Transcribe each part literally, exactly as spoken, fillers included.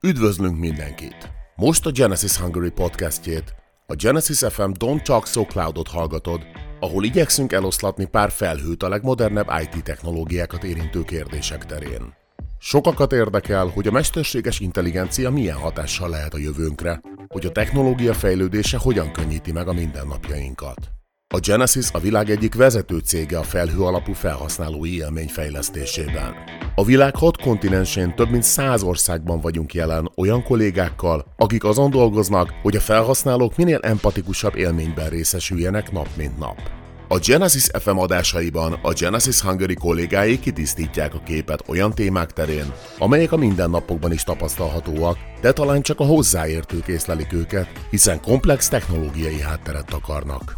Üdvözlünk mindenkit! Most a Genesys Hungary podcastjét, a Genesys ef em Don't Talk So Cloudot hallgatod, ahol igyekszünk eloszlatni pár felhőt a legmodernebb i té technológiákat érintő kérdések terén. Sokakat érdekel, hogy a mesterséges intelligencia milyen hatással lehet a jövőnkre, hogy a technológia fejlődése hogyan könnyíti meg a mindennapjainkat. A Genesys a világ egyik vezető cége a felhő alapú felhasználói élmény fejlesztésében. A világ hat kontinensén több mint száz országban vagyunk jelen olyan kollégákkal, akik azon dolgoznak, hogy a felhasználók minél empatikusabb élményben részesüljenek nap mint nap. A Genesys ef em adásaiban a Genesys Hungary kollégái kitisztítják a képet olyan témák terén, amelyek a mindennapokban is tapasztalhatóak, de talán csak a hozzáértők észlelik őket, hiszen komplex technológiai hátteret takarnak.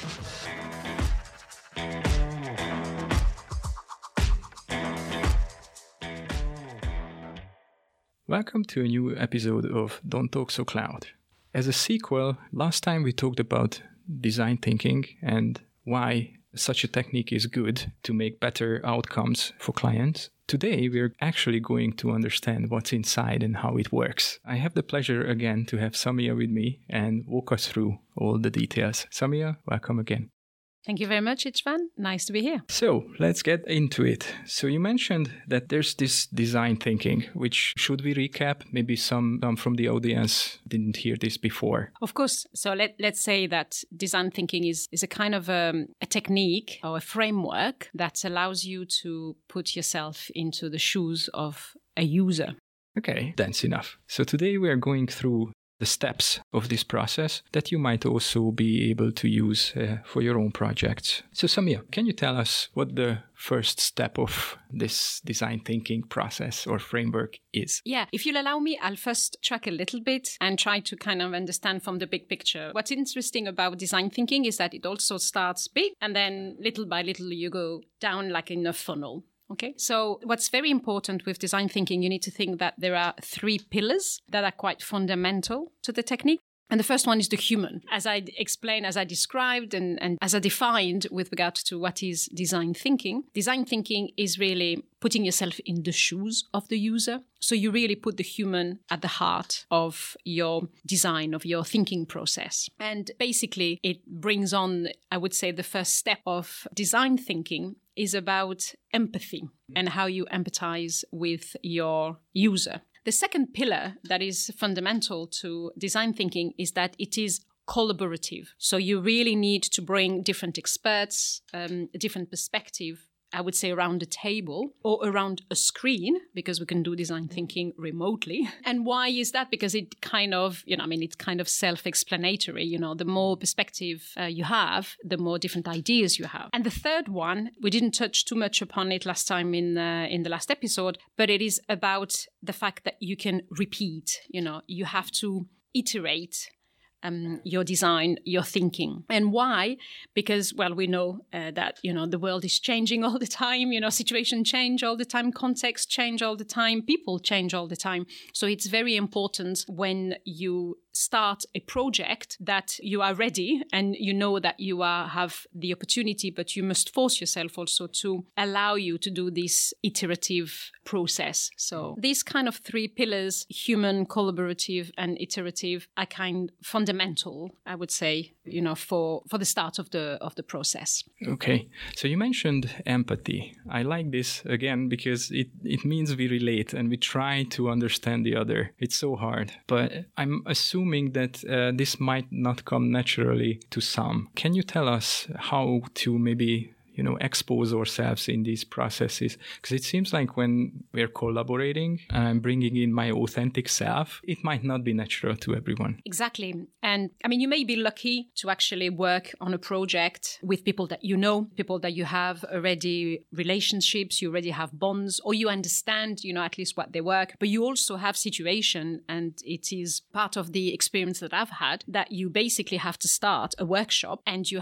Welcome to a new episode of Don't Talk So Cloud. As a sequel, last time we talked about design thinking and why such a technique is good to make better outcomes for clients. Today, we're actually going to understand what's inside and how it works. I have the pleasure again to have Samia with me and walk us through all the details. Samia, welcome again. Thank you very much, Istvan. Nice to be here. So let's get into it. So you mentioned that there's this design thinking, which should we recap? Maybe some, some from the audience didn't hear this before. Of course. So let, let's say that design thinking is, is a kind of um, a technique or a framework that allows you to put yourself into the shoes of a user. Okay, that's enough. So today we are going through the steps of this process that you might also be able to use uh, for your own projects. So Samia, can you tell us what the first step of this design thinking process or framework is? Yeah, if you'll allow me, I'll first track a little bit and try to kind of understand from the big picture. What's interesting about design thinking is that it also starts big and then little by little you go down like in a funnel. Okay, so what's very important with design thinking, you need to think that there are three pillars that are quite fundamental to the technique. And the first one is the human. As I explained, as I described, and, and as I defined with regard to what is design thinking, design thinking is really putting yourself in the shoes of the user. So you really put the human at the heart of your design, of your thinking process. And basically, it brings on, I would say, the first step of design thinking is about empathy and how you empathize with your user. The second pillar that is fundamental to design thinking is that it is collaborative. So you really need to bring different experts, um, a different perspective, I would say around a table or around a screen, because we can do design thinking remotely. And why is that? Because it kind of, you know, I mean, it's kind of self-explanatory. You know, the more perspective uh, you have, the more different ideas you have. And the third one, we didn't touch too much upon it last time in uh, in the last episode, but it is about the fact that you can repeat. You know, you have to iterate Um, your design, your thinking. And why? Because, well, we know uh, that, you know, the world is changing all the time, you know, situations change all the time, contexts change all the time, people change all the time. So it's very important when you start a project that you are ready and you know that you are have the opportunity, but you must force yourself also to allow you to do this iterative process. So these kind of three pillars, human, collaborative, and iterative, are kind of fundamental, I would say, you know, for, for the start of the of the process. Okay. So you mentioned empathy. I like this again because it, it means we relate and we try to understand the other. It's so hard. But I'm assuming that uh, this might not come naturally to some. Can you tell us how to maybe, you know, expose ourselves in these processes? Because it seems like when we're collaborating and I'm bringing in my authentic self, it might not be natural to everyone. Exactly. And I mean, you may be lucky to actually work on a project with people that you know, people that you have already relationships, you already have bonds, or you understand, you know, at least what they work. But you also have situation, and it is part of the experience that I've had, that you basically have to start a workshop and you have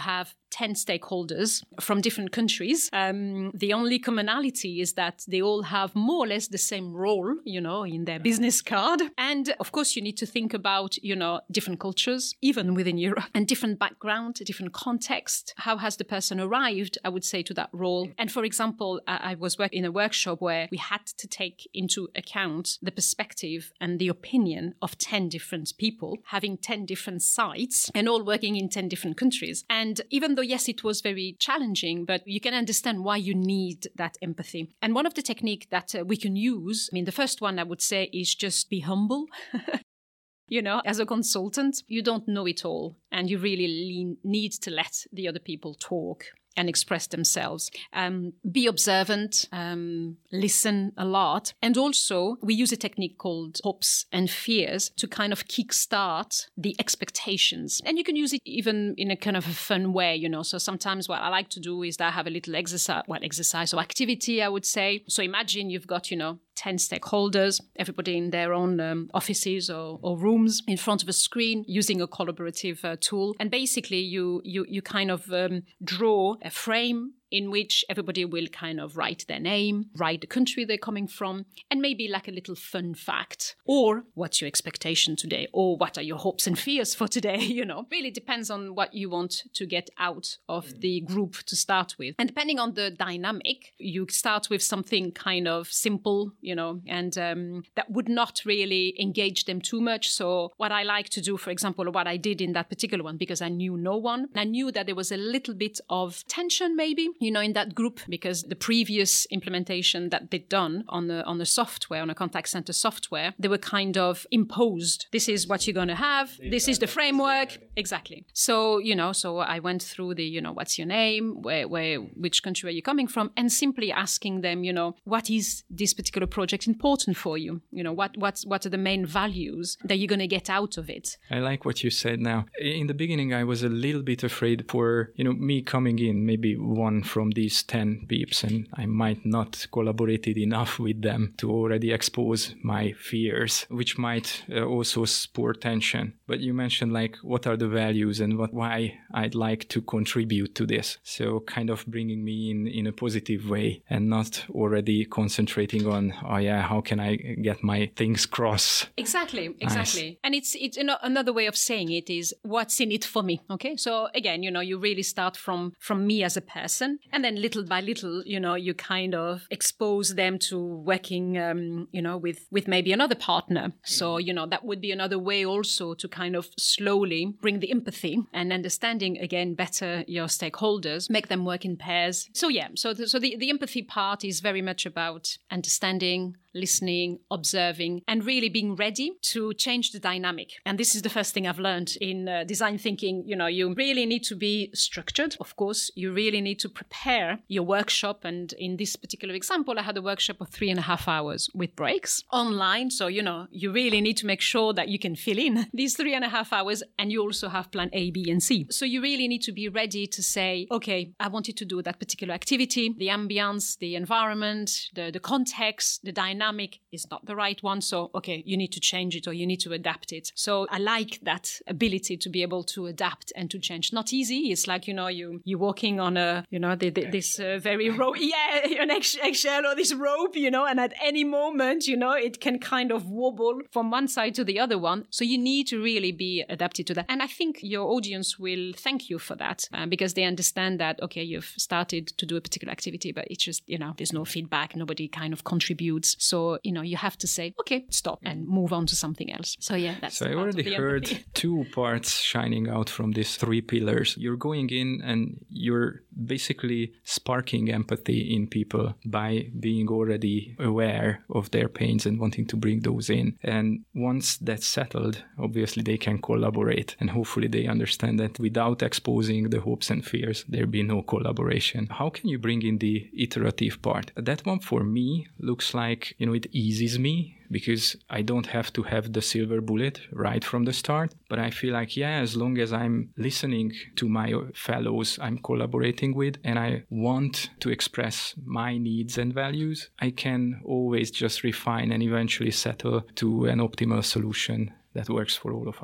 ten stakeholders from different countries. Um, the only commonality is that they all have more or less the same role, you know, in their business card. And of course, you need to think about, you know, different cultures, even within Europe, and different background, different context. How has the person arrived, I would say, to that role? And for example, I was working in a workshop where we had to take into account the perspective and the opinion of ten different people, having ten different sites and all working in ten different countries. And even though, yes, it was very challenging, but you can understand why you need that empathy. And one of the techniques that uh, we can use, I mean, the first one I would say is just be humble. You know, as a consultant, you don't know it all, and you really lean, need to let the other people talk and express themselves. Um, be observant, um, listen a lot. And also, we use a technique called hopes and fears to kind of kickstart the expectations. And you can use it even in a kind of a fun way, you know. So sometimes what I like to do is that I have a little exercise, well, exercise or activity, I would say. So imagine you've got, you know, ten stakeholders, everybody in their own um, offices or, or rooms in front of a screen using a collaborative uh, tool. And basically you you you kind of um, draw a frame in which everybody will kind of write their name, write the country they're coming from, and maybe like a little fun fact. Or what's your expectation today? Or what are your hopes and fears for today? You know, really depends on what you want to get out of the group to start with. And depending on the dynamic, you start with something kind of simple, you know, and um, that would not really engage them too much. So what I like to do, for example, what I did in that particular one, because I knew no one, I knew that there was a little bit of tension maybe, you know, in that group, because the previous implementation that they'd done on the on the software, on a contact center software, they were kind of imposed. This is what you're going to have. This is the framework. Exactly. So, you know, so I went through the, you know, what's your name? Where, where, which country are you coming from? And simply asking them, you know, what is this particular project important for you? You know, what, what's, what are the main values that you're going to get out of it? I like what you said now. In the beginning, I was a little bit afraid for, you know, me coming in, maybe one from these ten peeps, and I might not collaborated enough with them to already expose my fears, which might uh, also spur tension. But you mentioned like what are the values and what why I'd like to contribute to this. So kind of bringing me in in a positive way and not already concentrating on, oh yeah, how can I get my things cross? Exactly, exactly. Nice. And it's it's another way of saying it is what's in it for me. Okay, so again, you know, you really start from from me as a person. And then little by little, you know, you kind of expose them to working, um, you know, with, with maybe another partner. So, you know, that would be another way also to kind of slowly bring the empathy and understanding, again, better your stakeholders, make them work in pairs. So, yeah, so the, so the, the empathy part is very much about understanding, listening, observing, and really being ready to change the dynamic. And this is the first thing I've learned in uh, design thinking. You know, you really need to be structured. Of course, you really need to prepare your workshop. And in this particular example, I had a workshop of three and a half hours with breaks online. So, you know, you really need to make sure that you can fill in these three and a half hours, and you also have plan A, B, and C. So you really need to be ready to say, okay, I wanted to do that particular activity. The ambience, the environment, the, the context, the dynamic is not the right one. So, okay, you need to change it or you need to adapt it. So I like that ability to be able to adapt and to change. Not easy. It's like, you know, you, you're walking on a, you know, the, the, this uh, very rope, yeah, an eggshell or this rope, you know, and at any moment, you know, it can kind of wobble from one side to the other one. So you need to really be adapted to that. And I think your audience will thank you for that uh, because they understand that, okay, you've started to do a particular activity, but it's just, you know, there's no feedback. Nobody kind of contributes. So, you know, you have to say, okay, stop and move on to something else. So, yeah, that's So I already heard two parts shining out from these three pillars. You're going in and you're basically sparking empathy in people by being already aware of their pains and wanting to bring those in. And once that's settled, obviously they can collaborate. And hopefully they understand that without exposing the hopes and fears, there'll be no collaboration. How can you bring in the iterative part? That one for me looks like, you know, it eases me because I don't have to have the silver bullet right from the start. But I feel like, yeah, as long as I'm listening to my fellows I'm collaborating with and I want to express my needs and values, I can always just refine and eventually settle to an optimal solution that works for all of us.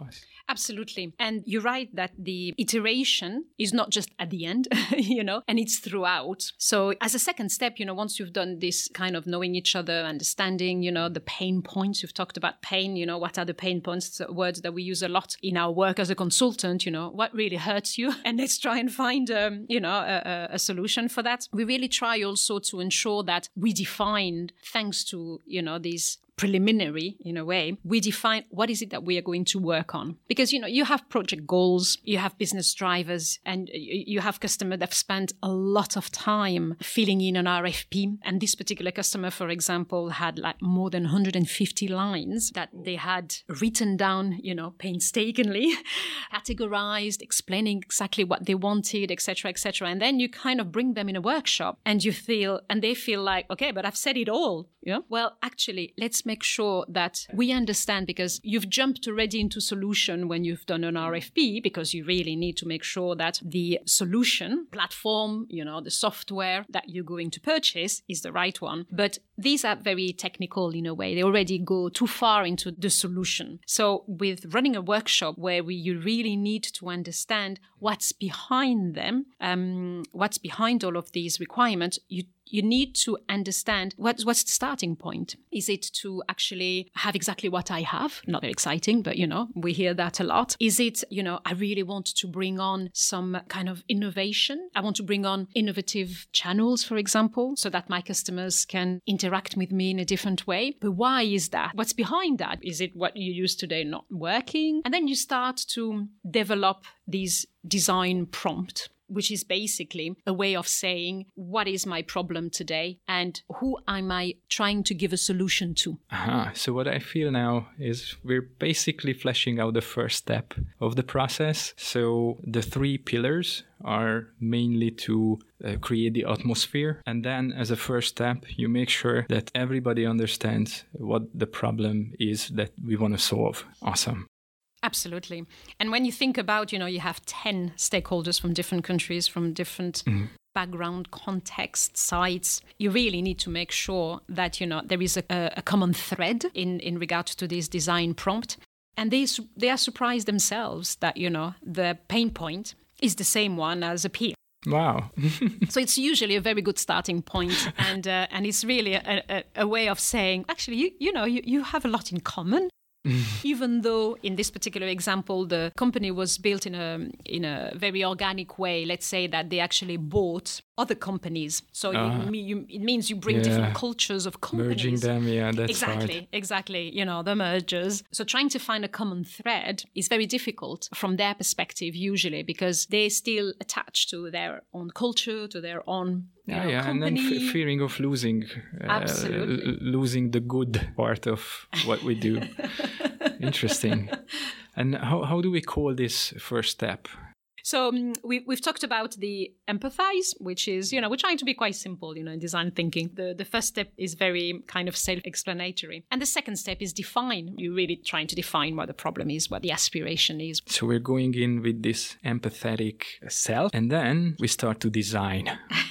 Absolutely. And you're right that the iteration is not just at the end, you know, and it's throughout. So as a second step, you know, once you've done this kind of knowing each other, understanding, you know, the pain points, you've talked about pain, you know, what are the pain points, words that we use a lot in our work as a consultant, you know, what really hurts you? And let's try and find, um, you know, a, a solution for that. We really try also to ensure that we defined, thanks to, you know, these preliminary, in a way, we define what is it that we are going to work on. Because, you know, you have project goals, you have business drivers, and you have customers that have spent a lot of time filling in an R F P. And this particular customer, for example, had like more than one hundred fifty lines that they had written down, you know, painstakingly, categorized, explaining exactly what they wanted, et cetera, et cetera. And then you kind of bring them in a workshop and you feel, and they feel like, okay, but I've said it all. Yeah. Well, actually, let's make sure that we understand, because you've jumped already into solution when you've done an R F P, because you really need to make sure that the solution platform, you know, the software that you're going to purchase is the right one. But these are very technical in a way. They already go too far into the solution. So with running a workshop where we, you really need to understand what's behind them, um, what's behind all of these requirements, you You need to understand what's, what's the starting point. Is it to actually have exactly what I have? Not very exciting, but, you know, we hear that a lot. Is it, you know, I really want to bring on some kind of innovation. I want to bring on innovative channels, for example, so that my customers can interact with me in a different way. But why is that? What's behind that? Is it what you use today not working? And then you start to develop these design prompt, which is basically a way of saying, what is my problem today and who am I trying to give a solution to? Aha. So what I feel now is we're basically fleshing out the first step of the process. So the three pillars are mainly to uh, create the atmosphere. And then as a first step, you make sure that everybody understands what the problem is that we want to solve. Awesome. Absolutely. And when you think about, you know, you have ten stakeholders from different countries, from different mm-hmm. background, context, sites, you really need to make sure that, you know, there is a, a common thread in, in regard to this design prompt. And they, they are surprised themselves that, you know, the pain point is the same one as a peer. Wow. So it's usually a very good starting point, and uh, and it's really a, a, a way of saying, actually, you, you know, you, you have a lot in common. Even though in this particular example, the company was built in a in a very organic way, let's say that they actually bought other companies. So uh, you, you, it means you bring yeah. different cultures of companies. Merging them, yeah, that's Exactly, hard. exactly. You know, the mergers. So trying to find a common thread is very difficult from their perspective usually, because they're still attached to their own culture, to their own Yeah, know, yeah, company. and then f- fearing of losing, uh, l- losing the good part of what we do. Interesting. And how how do we call this first step? So um, we, we've talked about the empathize, which is, you know, we're trying to be quite simple, you know, in design thinking. The, the first step is very kind of self-explanatory. And the second step is define. You're really trying to define what the problem is, what the aspiration is. So we're going in with this empathetic self, and then we start to design.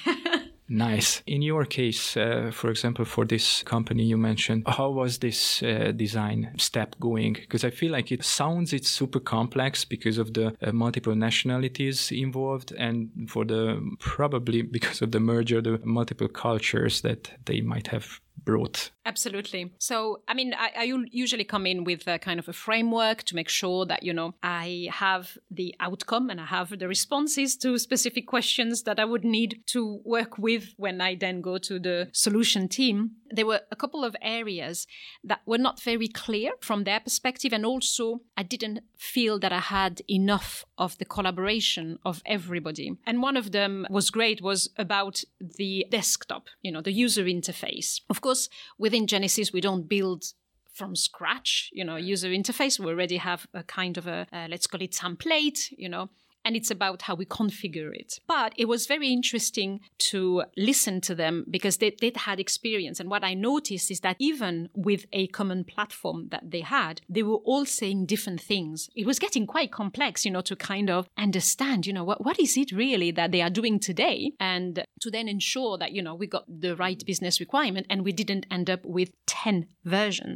Nice. In your case, uh, for example, for this company you mentioned, how was this uh, design step going? Because I feel like it sounds it's super complex because of the uh, multiple nationalities involved, and for the probably because of the merger, the multiple cultures that they might have brought. Absolutely. So, I mean, I, I usually come in with a kind of a framework to make sure that, you know, I have the outcome and I have the responses to specific questions that I would need to work with when I then go to the solution team. There were a couple of areas that were not very clear from their perspective. And also, I didn't feel that I had enough of the collaboration of everybody. And one of them was great, was about the desktop, you know, the user interface. Of course, within Genesys, we don't build from scratch, you know, user interface. We already have a kind of a, uh, let's call it template, you know, and it's about how we configure it. But it was very interesting to listen to them because they, they'd had experience. And what I noticed is that even with a common platform that they had, they were all saying different things. It was getting quite complex, you know, to kind of understand, you know, what, what is it really that they are doing today? And to then ensure that, you know, we got the right business requirement and we didn't end up with ten versions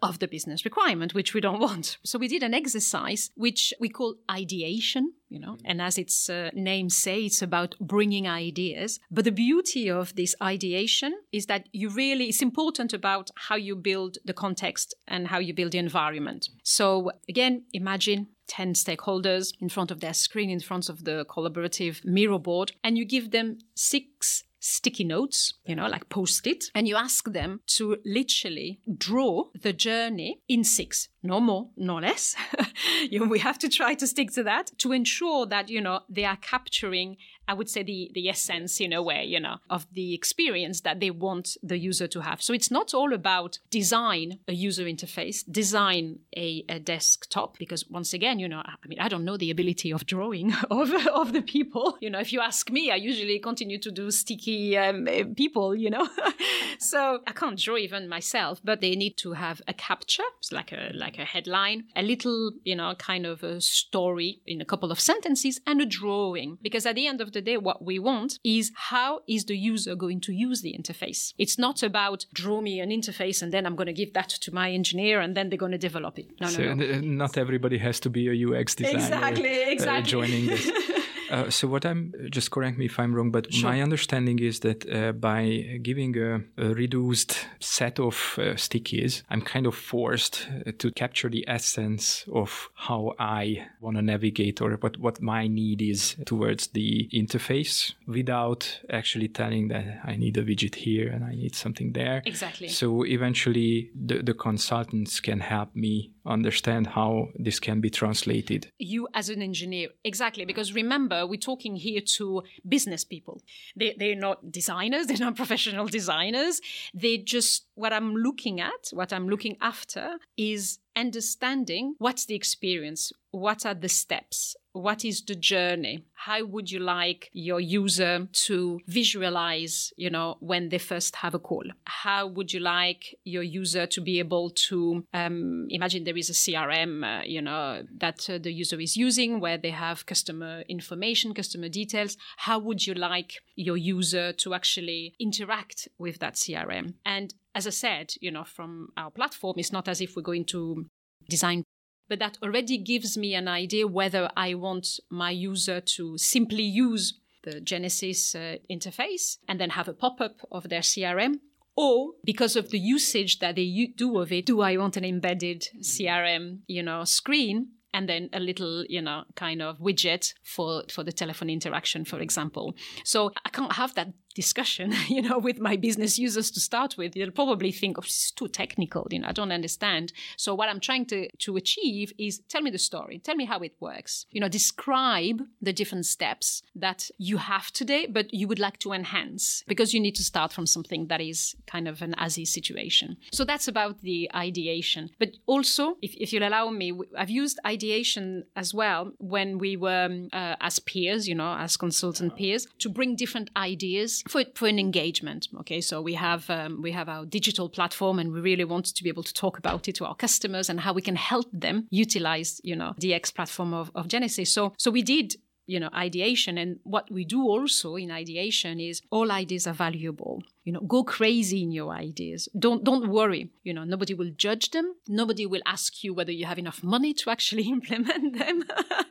of the business requirement, which we don't want. So we did an exercise which we call ideation, you know, and as its uh, name says, it's about bringing ideas. But the beauty of this ideation is that you really, it's important about how you build the context and how you build the environment. So again, imagine ten stakeholders in front of their screen, in front of the collaborative Miro board, and you give them six sticky notes, you know, like post-it, and you ask them to literally draw the journey in six, no more, no less. you know, we have to try to stick to that to ensure that, you know, they are capturing, I would say, the, the essence in a way, you know, of the experience that they want the user to have. So it's not all about design a user interface, design a, a desktop, because once again, you know, I mean, I don't know the ability of drawing of, of the people. You know, if you ask me, I usually continue to do sticky um, people, you know. So I can't draw even myself, but they need to have a capture, it's like a, like a headline, a little, you know, kind of a story in a couple of sentences, and a drawing. Because at the end of the day, what we want is how is the user going to use the interface? It's not about draw me an interface and then I'm going to give that to my engineer and then they're going to develop it. No, so no, no. Not everybody has to be a U X designer. Exactly, exactly. Uh, joining this. Uh, so what I'm, just correct me if I'm wrong, but Sure. my understanding is that uh, by giving a, a reduced set of uh, stickies, I'm kind of forced uh, to capture the essence of how I want to navigate or what, what my need is towards the interface without actually telling that I need a widget here and I need something there. Exactly. So eventually the, the consultants can help me understand how this can be translated. You as an engineer, exactly, because remember, we're talking here to business people. They, they're not designers, they're not professional designers. They just, what I'm looking at, what I'm looking after is understanding what's the experience, what are the steps, what is the journey, how would you like your user to visualize, you know, when they first have a call, how would you like your user to be able to um, imagine there is a C R M, uh, you know, that uh, the user is using where they have customer information, customer details. How would you like your user to actually interact with that C R M? And as I said, you know, from our platform, it's not as if we're going to design, but that already gives me an idea whether I want my user to simply use the Genesys uh, interface and then have a pop-up of their C R M, or because of the usage that they u- do of it, do I want an embedded C R M, you know, screen and then a little, you know, kind of widget for, for the telephone interaction, for example. So I can't have that discussion, you know, with my business users to start with. They'll probably think, oh, this is too technical, you know, I don't understand. So what I'm trying to, to achieve is tell me the story, tell me how it works, you know, describe the different steps that you have today, but you would like to enhance because you need to start from something that is kind of an as-is situation. So that's about the ideation. But also, if, if you'll allow me, I've used ideation as well when we were um, uh, as peers, you know, as consultant peers, to bring different ideas for for an engagement. Okay, so we have um, we have our digital platform, and we really want to be able to talk about it to our customers and how we can help them utilize, you know, the X platform of, of Genesys. So so we did, you know, ideation, and what we do also in ideation is all ideas are valuable. You know, go crazy in your ideas. Don't don't worry. You know, nobody will judge them. Nobody will ask you whether you have enough money to actually implement them.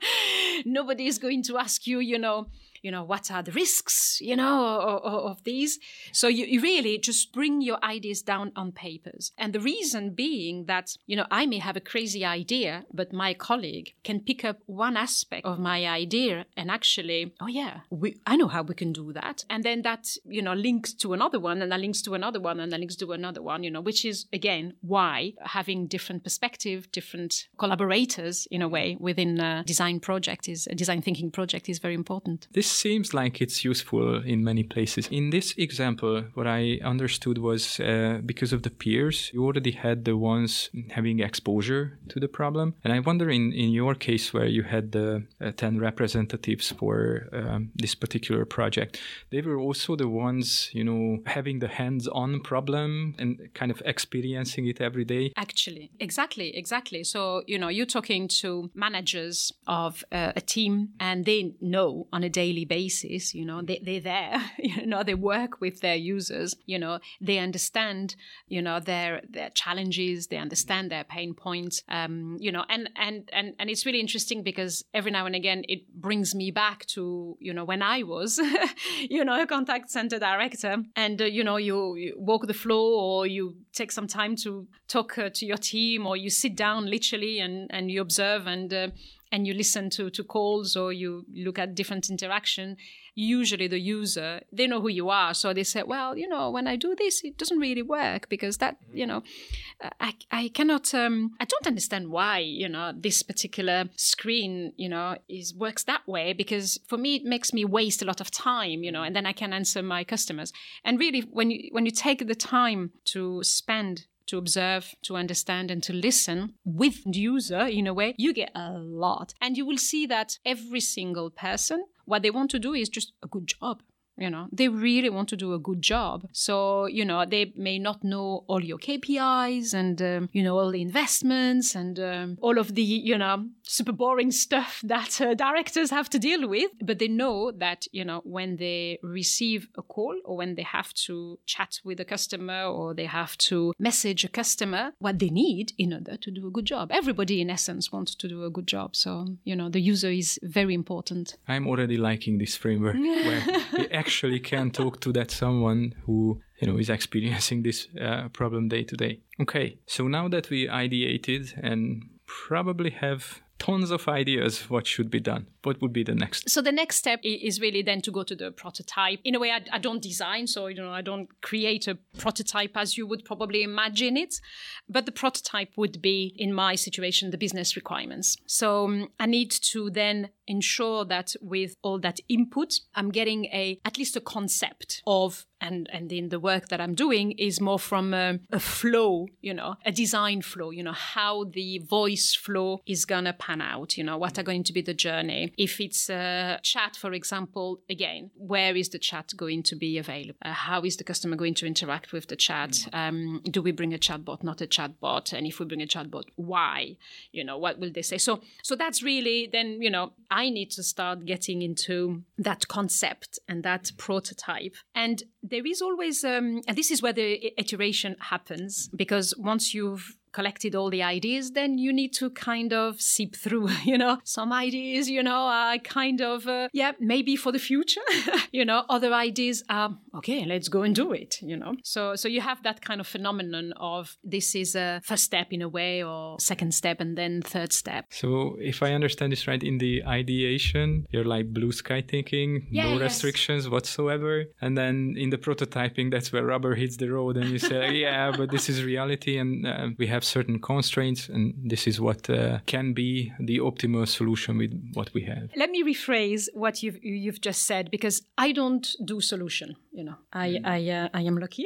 Nobody is going to ask you, you know, you know, what are the risks, you know, of, of these. So you, you really just bring your ideas down on papers. And the reason being that, you know, I may have a crazy idea, but my colleague can pick up one aspect of my idea and actually, oh yeah, we, I know how we can do that. And then that, you know, links to another one, and that links to another one, and that links to another one, you know, which is, again, why having different perspective, different collaborators, in a way, within a design project is, a design thinking project is very important. This seems like it's useful in many places. In this example, what I understood was uh, because of the peers, you already had the ones having exposure to the problem. And I wonder in, in your case where you had the uh, ten representatives for um, this particular project, they were also the ones, you know, having the hands-on problem and kind of experiencing it every day. Actually, exactly, exactly. So, you know, you're talking to managers of uh, a team and they know on a daily basis, you know, they, they're there, you know, they work with their users, you know, they understand, you know, their their challenges, they understand their pain points, um, you know, and, and, and, and it's really interesting because every now and again it brings me back to, you know, when I was, you know, a contact center director and, uh, you know, you, you walk the floor or you take some time to talk uh, to your team or you sit down literally and, and you observe and uh, and you listen to, to calls or you look at different interaction. Usually the user, they know who you are. So they say, well, you know, when I do this, it doesn't really work because that, you know, I, I cannot, um, I don't understand why, you know, this particular screen, you know, is works that way because for me, it makes me waste a lot of time, you know, and then I can answer my customers. And really, when you, when you take the time to spend to observe, to understand, and to listen with the user in a way, you get a lot. And you will see that every single person, what they want to do is just a good job. You know, they really want to do a good job. So, you know, they may not know all your K P Is and, um, you know, all the investments and um, all of the, you know, super boring stuff that uh, directors have to deal with. But they know that, you know, when they receive a call or when they have to chat with a customer or they have to message a customer, what they need in order to do a good job. Everybody, in essence, wants to do a good job. So, you know, the user is very important. I'm already liking this framework where we actually can talk to that someone who, you know, is experiencing this uh, problem day to day. Okay, so now that we ideated and probably have tons of ideas what should be done, what would be the next? So the next step is really then to go to the prototype. In a way, I, I don't design, so you know, I don't create a prototype as you would probably imagine it. But the prototype would be, in my situation, the business requirements. So um, I need to then ensure that with all that input, I'm getting a at least a concept of, and, and in the work that I'm doing is more from a, a flow, you know, a design flow, you know, how the voice flow is going to pan out, you know, what are going to be the journey. If it's a chat, for example, again, where is the chat going to be available? Uh, how is the customer going to interact with the chat? Um, do we bring a chatbot, not a chatbot? And if we bring a chatbot, why? You know, what will they say? So, so that's really then, you know, I need to start getting into that concept and that prototype. And there is always, um, and this is where the iteration happens, because once you've collected all the ideas, then you need to kind of seep through, you know, some ideas, you know, are kind of, uh, yeah, maybe for the future, you know, other ideas are, okay, let's go and do it, you know. So so you have that kind of phenomenon of this is a first step in a way or second step and then third step. So if I understand this right, in the ideation, you're like blue sky thinking, yeah, no yes. restrictions whatsoever. And then in the prototyping, that's where rubber hits the road and you say, yeah, but this is reality and uh, we have certain constraints and this is what uh, can be the optimal solution with what we have. Let me rephrase what you've you've just said, because I don't do solution, you know. I mm. I uh, I am lucky.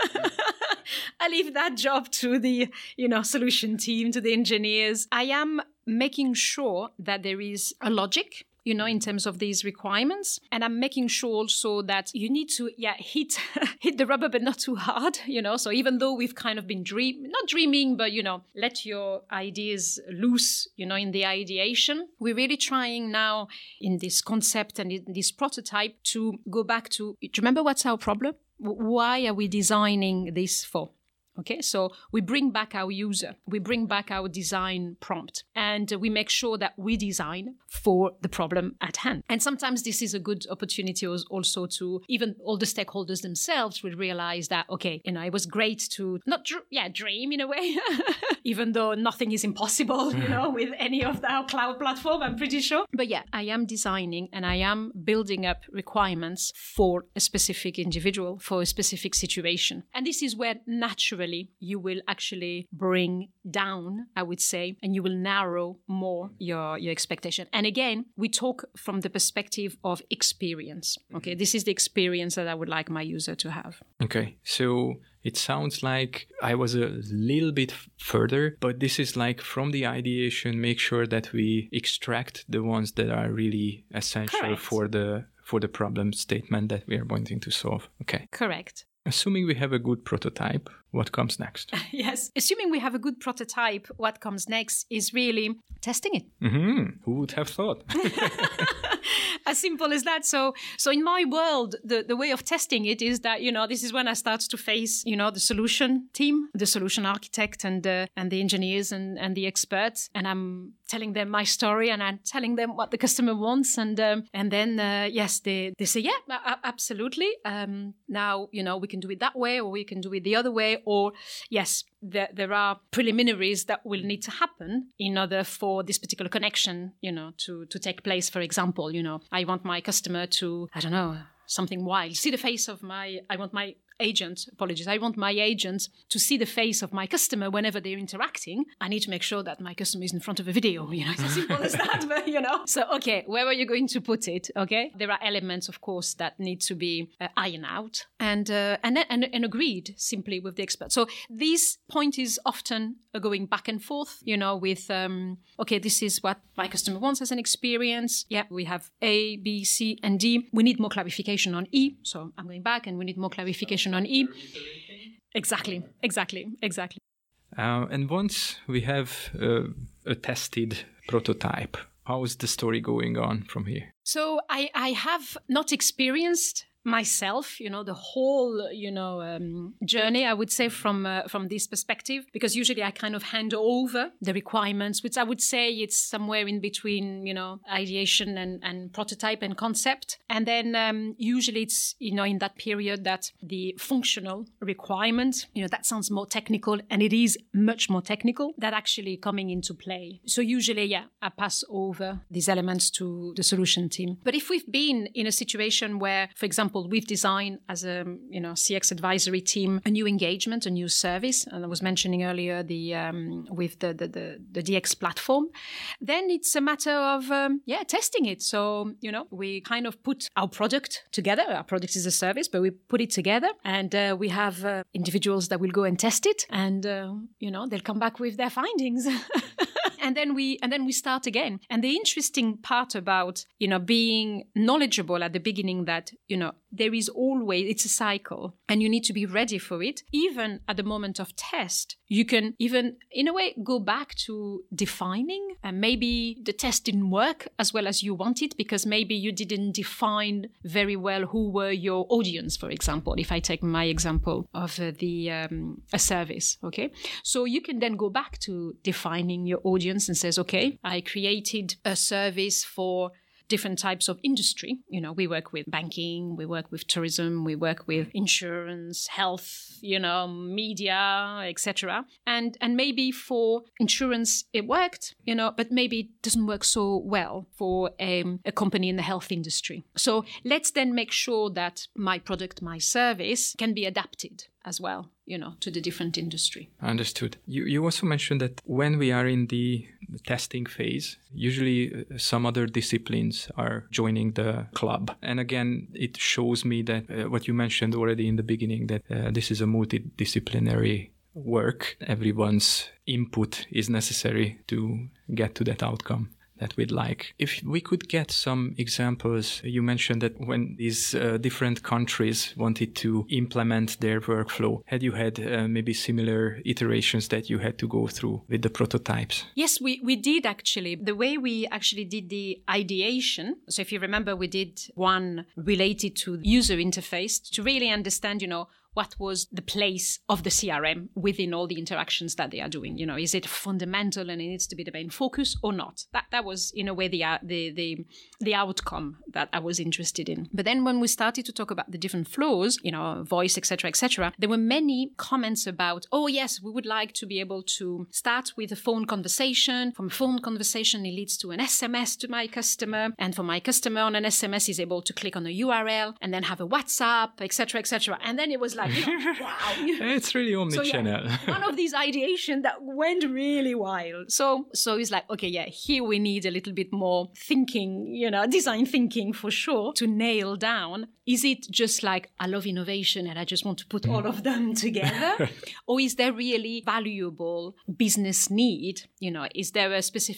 I leave that job to the, you know, solution team, to the engineers. I am making sure that there is a logic, you know, in terms of these requirements. And I'm making sure also that you need to, yeah, hit hit the rubber, but not too hard, you know. So even though we've kind of been dream, not dreaming, but, you know, let your ideas loose, you know, in the ideation, we're really trying now in this concept and in this prototype to go back to, do you remember what's our problem? Why are we designing this for? Okay, so we bring back our user, we bring back our design prompt, and we make sure that we design for the problem at hand. And sometimes this is a good opportunity also to even all the stakeholders themselves will realize that, okay, you know, it was great to not, dr- yeah, dream in a way, even though nothing is impossible, you know, with any of our cloud platform, I'm pretty sure. But yeah, I am designing and I am building up requirements for a specific individual, for a specific situation. And this is where naturally you will actually bring down, I would say, and you will narrow more your, your expectation. And again, we talk from the perspective of experience. Okay, this is the experience that I would like my user to have. Okay, so it sounds like I was a little bit further, but this is like from the ideation, make sure that we extract the ones that are really essential Correct. for the for the problem statement that we are wanting to solve. Okay. Correct. Assuming we have a good prototype, what comes next? Yes. Assuming we have a good prototype, what comes next is really testing it. Mm-hmm. Who would have thought? As simple as that. So, so in my world, the, the way of testing it is that, you know, this is when I start to face, you know, the solution team, the solution architect and uh, and the engineers and, and the experts. And I'm telling them my story and I'm telling them what the customer wants. And um, and then, uh, yes, they, they say, yeah, a- absolutely. Um, now, you know, we can do it that way or we can do it the other way. Or, yes, there, there are preliminaries that will need to happen in order for this particular connection, you know, to, to take place. For example, you know, I want my customer to, I don't know, something wild. See the face of my, I want my agent, apologies, I want my agent to see the face of my customer whenever they're interacting. I need to make sure that my customer is in front of a video, you know, it's as simple as that, but, you know. So, okay, where are you going to put it, okay? There are elements, of course, that need to be uh, ironed out and, uh, and, and, and agreed simply with the expert. So this point is often uh, going back and forth, you know, with, um, okay, this is what my customer wants as an experience. Yeah, we have A, B, C, and D. We need more clarification on E. So I'm going back and we need more clarification on E. Exactly, exactly, exactly. Uh, and once we have uh, a tested prototype, how is the story going on from here? So I, I have not experienced myself, you know, the whole, you know, um, journey, I would say, from uh, from this perspective, because usually I kind of hand over the requirements, which I would say it's somewhere in between, you know, ideation and, and prototype and concept. And then um, usually it's, you know, in that period that the functional requirement, you know, that sounds more technical, and it is much more technical, that actually coming into play. So usually, yeah, I pass over these elements to the solution team. But if we've been in a situation where, for example, we've designed as a you know C X advisory team a new engagement, a new service, and I was mentioning earlier the um, with the, the the the D X platform. Then it's a matter of um, yeah testing it. So you know we kind of put our product together. Our product is a service, but we put it together, and uh, we have uh, individuals that will go and test it, and uh, you know they'll come back with their findings. And then we and then we start again. And the interesting part about, you know, being knowledgeable at the beginning that, you know, there is always, it's a cycle and you need to be ready for it. Even at the moment of test, you can even, in a way, go back to defining. And maybe the test didn't work as well as you wanted because maybe you didn't define very well who were your audience, for example, if I take my example of uh, the um, a service, okay? So you can then go back to defining your audience and says, okay, I created a service for different types of industry. You know, we work with banking, we work with tourism, we work with insurance, health, you know, media, et cetera. And and maybe for insurance it worked, you know, but maybe it doesn't work so well for um, a company in the health industry. So let's then make sure that my product, my service can be adapted as well, you know, to the different industry. Understood. You you also mentioned that when we are in the testing phase, usually uh, some other disciplines are joining the club. And again, it shows me that uh, what you mentioned already in the beginning, that uh, this is a multidisciplinary work. Everyone's input is necessary to get to that outcome that we'd like. If we could get some examples, you mentioned that when these uh, different countries wanted to implement their workflow, had you had uh, maybe similar iterations that you had to go through with the prototypes? Yes, we, we did actually. The way we actually did the ideation, so if you remember, we did one related to user interface to really understand, you know, what was the place of the C R M within all the interactions that they are doing? You know, is it fundamental and it needs to be the main focus or not? That that was, in a way, the the the, the outcome that I was interested in. But then when we started to talk about the different flows, you know, voice, et cetera, et cetera, there were many comments about, oh, yes, we would like to be able to start with a phone conversation. From a phone conversation, it leads to an S M S to my customer. And for my customer on an S M S, is able to click on a U R L and then have a WhatsApp, et cetera, et cetera. And then it was like, you know, wow. It's really omnichannel. So, yeah, one of these ideation that went really wild. So, so it's like, okay, yeah, here we need a little bit more thinking, you know, design thinking for sure to nail down. Is it just like, I love innovation and I just want to put all of them together? Or is there really valuable business need? You know, is there a specific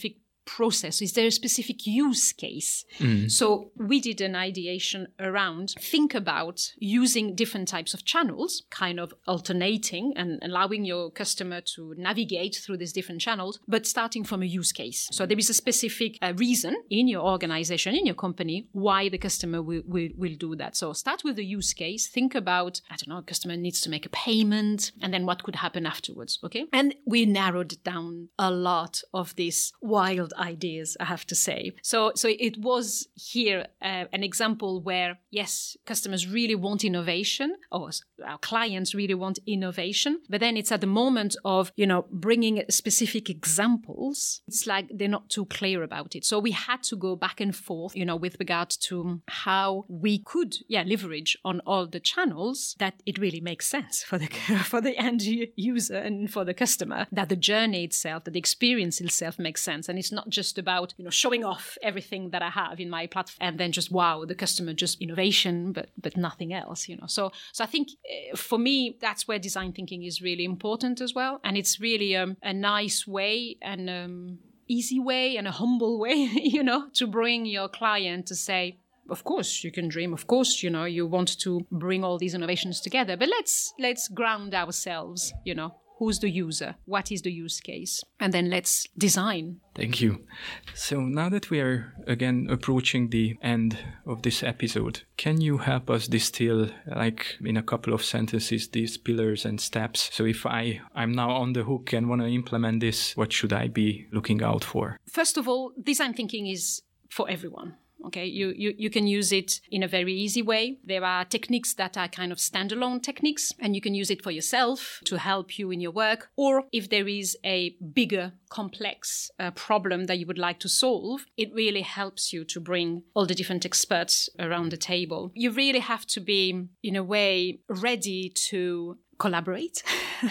process? Is there a specific use case? Mm. So we did an ideation around think about using different types of channels, kind of alternating and allowing your customer to navigate through these different channels, but starting from a use case. So there is a specific uh, reason in your organization, in your company, why the customer will, will, will do that. So start with the use case. Think about, I don't know, a customer needs to make a payment, and then what could happen afterwards, okay? And we narrowed down a lot of these wild ideas, I have to say. So, so it was here uh, an example where, yes, customers really want innovation, or our clients really want innovation, but then it's at the moment of, you know, bringing specific examples, it's like they're not too clear about it. So we had to go back and forth, you know, with regard to how we could, yeah, leverage on all the channels that it really makes sense for the for the end user and for the customer, that the journey itself, that the experience itself makes sense. And it's not just about, you know, showing off everything that I have in my platform and then just, wow, the customer, just innovation, but but nothing else, you know. So so I think uh, for me, that's where design thinking is really important as well. And it's really um, a nice way and um, easy way and a humble way, you know, to bring your client to say, of course, you can dream. Of course, you know, you want to bring all these innovations together. But let's let's ground ourselves, you know. Who's the user? What is the use case? And then let's design. Thank you. So now that we are again approaching the end of this episode, can you help us distill, like in a couple of sentences, these pillars and steps? So if I, I'm now on the hook and want to implement this, what should I be looking out for? First of all, design thinking is for everyone. Okay, you, you, you can use it in a very easy way. There are techniques that are kind of standalone techniques, and you can use it for yourself to help you in your work. Or if there is a bigger, complex uh, problem that you would like to solve, it really helps you to bring all the different experts around the table. You really have to be, in a way, ready to collaborate.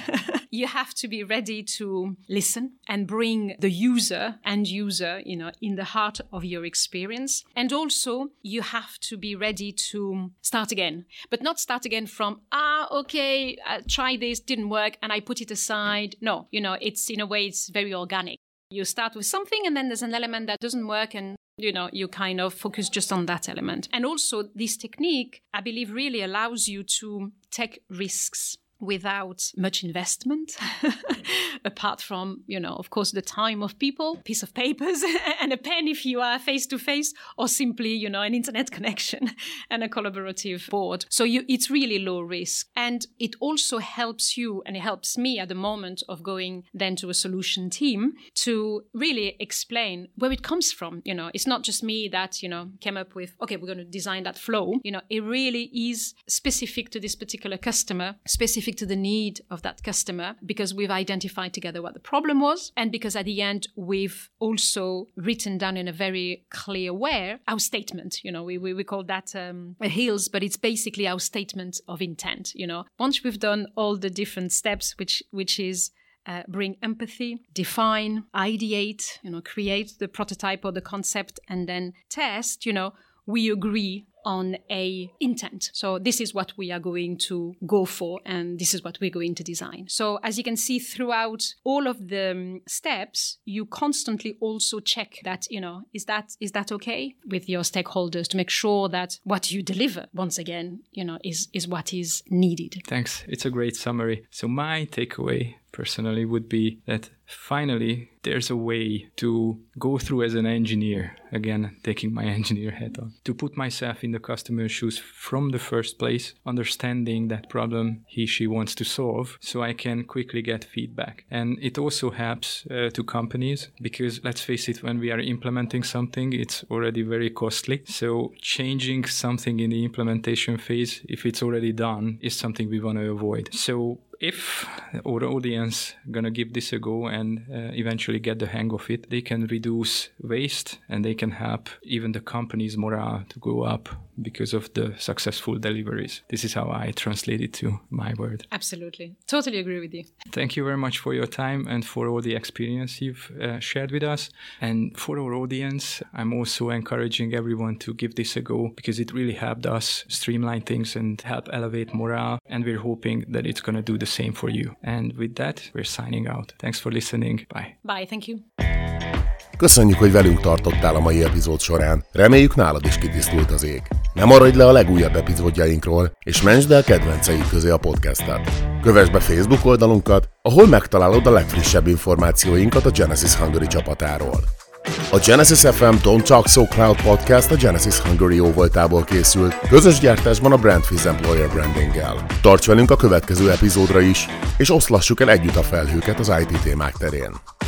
You have to be ready to listen and bring the user and user, you know, in the heart of your experience. And also you have to be ready to start again, but not start again from, ah, okay, I tried this, didn't work, and I put it aside. No, you know, it's in a way, it's very organic. You start with something and then there's an element that doesn't work, and you know, you kind of focus just on that element. And also this technique, I believe, really allows you to take risks without much investment, apart from, you know, of course, the time of people, piece of papers and a pen if you are face-to-face, or simply, you know, an internet connection and a collaborative board. So you, it's really low risk. And it also helps you, and it helps me at the moment of going then to a solution team to really explain where it comes from. You know, it's not just me that, you know, came up with, okay, we're going to design that flow. You know, it really is specific to this particular customer, specific to the need of that customer, because we've identified together what the problem was, and because at the end we've also written down in a very clear way our statement. You know, we we, we call that um, a H I L S, but it's basically our statement of intent. You know, once we've done all the different steps, which which is Uh, bring empathy, define, ideate, you know, create the prototype or the concept, and then test, you know, we agree on a intent. So this is what we are going to go for, and this is what we're going to design. So as you can see throughout all of the um, steps, you constantly also check that, you know, is that is that okay with your stakeholders, to make sure that what you deliver, once again, you know, is is what is needed. Thanks. It's a great summary. So my takeaway personally would be that finally there's a way to go through as an engineer, again taking my engineer hat on, to put myself in the customer's shoes from the first place, understanding that problem he she wants to solve, so I can quickly get feedback. And it also helps uh, to companies, because let's face it, when we are implementing something, it's already very costly. So changing something in the implementation phase, if it's already done, is something we want to avoid. So if our audience gonna give this a go and uh, eventually get the hang of it, they can reduce waste and they can help even the company's morale to go up because of the successful deliveries. This is how I translate it to my word. Absolutely. Totally agree with you. Thank you very much for your time and for all the experience you've uh, shared with us. And for our audience, I'm also encouraging everyone to give this a go, because it really helped us streamline things and help elevate morale. And we're hoping that it's going to do the same for you. And with that, we're signing out. Thanks for listening. Bye. Bye. Thank you. Köszönjük, hogy velünk tartottál a mai epizód során. Reméljük, nálad is kitisztult az ég. Ne maradj le a legújabb epizódjainkról, és mentsd el kedvenceid közé a podcastet. Kövess be Facebook oldalunkat, ahol megtalálod a legfrissebb információinkat a Genesys Hungary csapatáról. A Genesys ef em Don't Talk So Cloud podcast a Genesys Hungary jóvoltából készült, közös gyártásban a Brandfiz Employer Brandinggel. Tarts velünk a következő epizódra is, és oszlassuk el együtt a felhőket az i té témák terén.